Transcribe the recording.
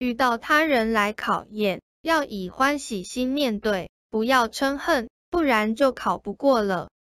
遇到他人来考验，要以欢喜心面对，不要嗔恨，不然就考不过了。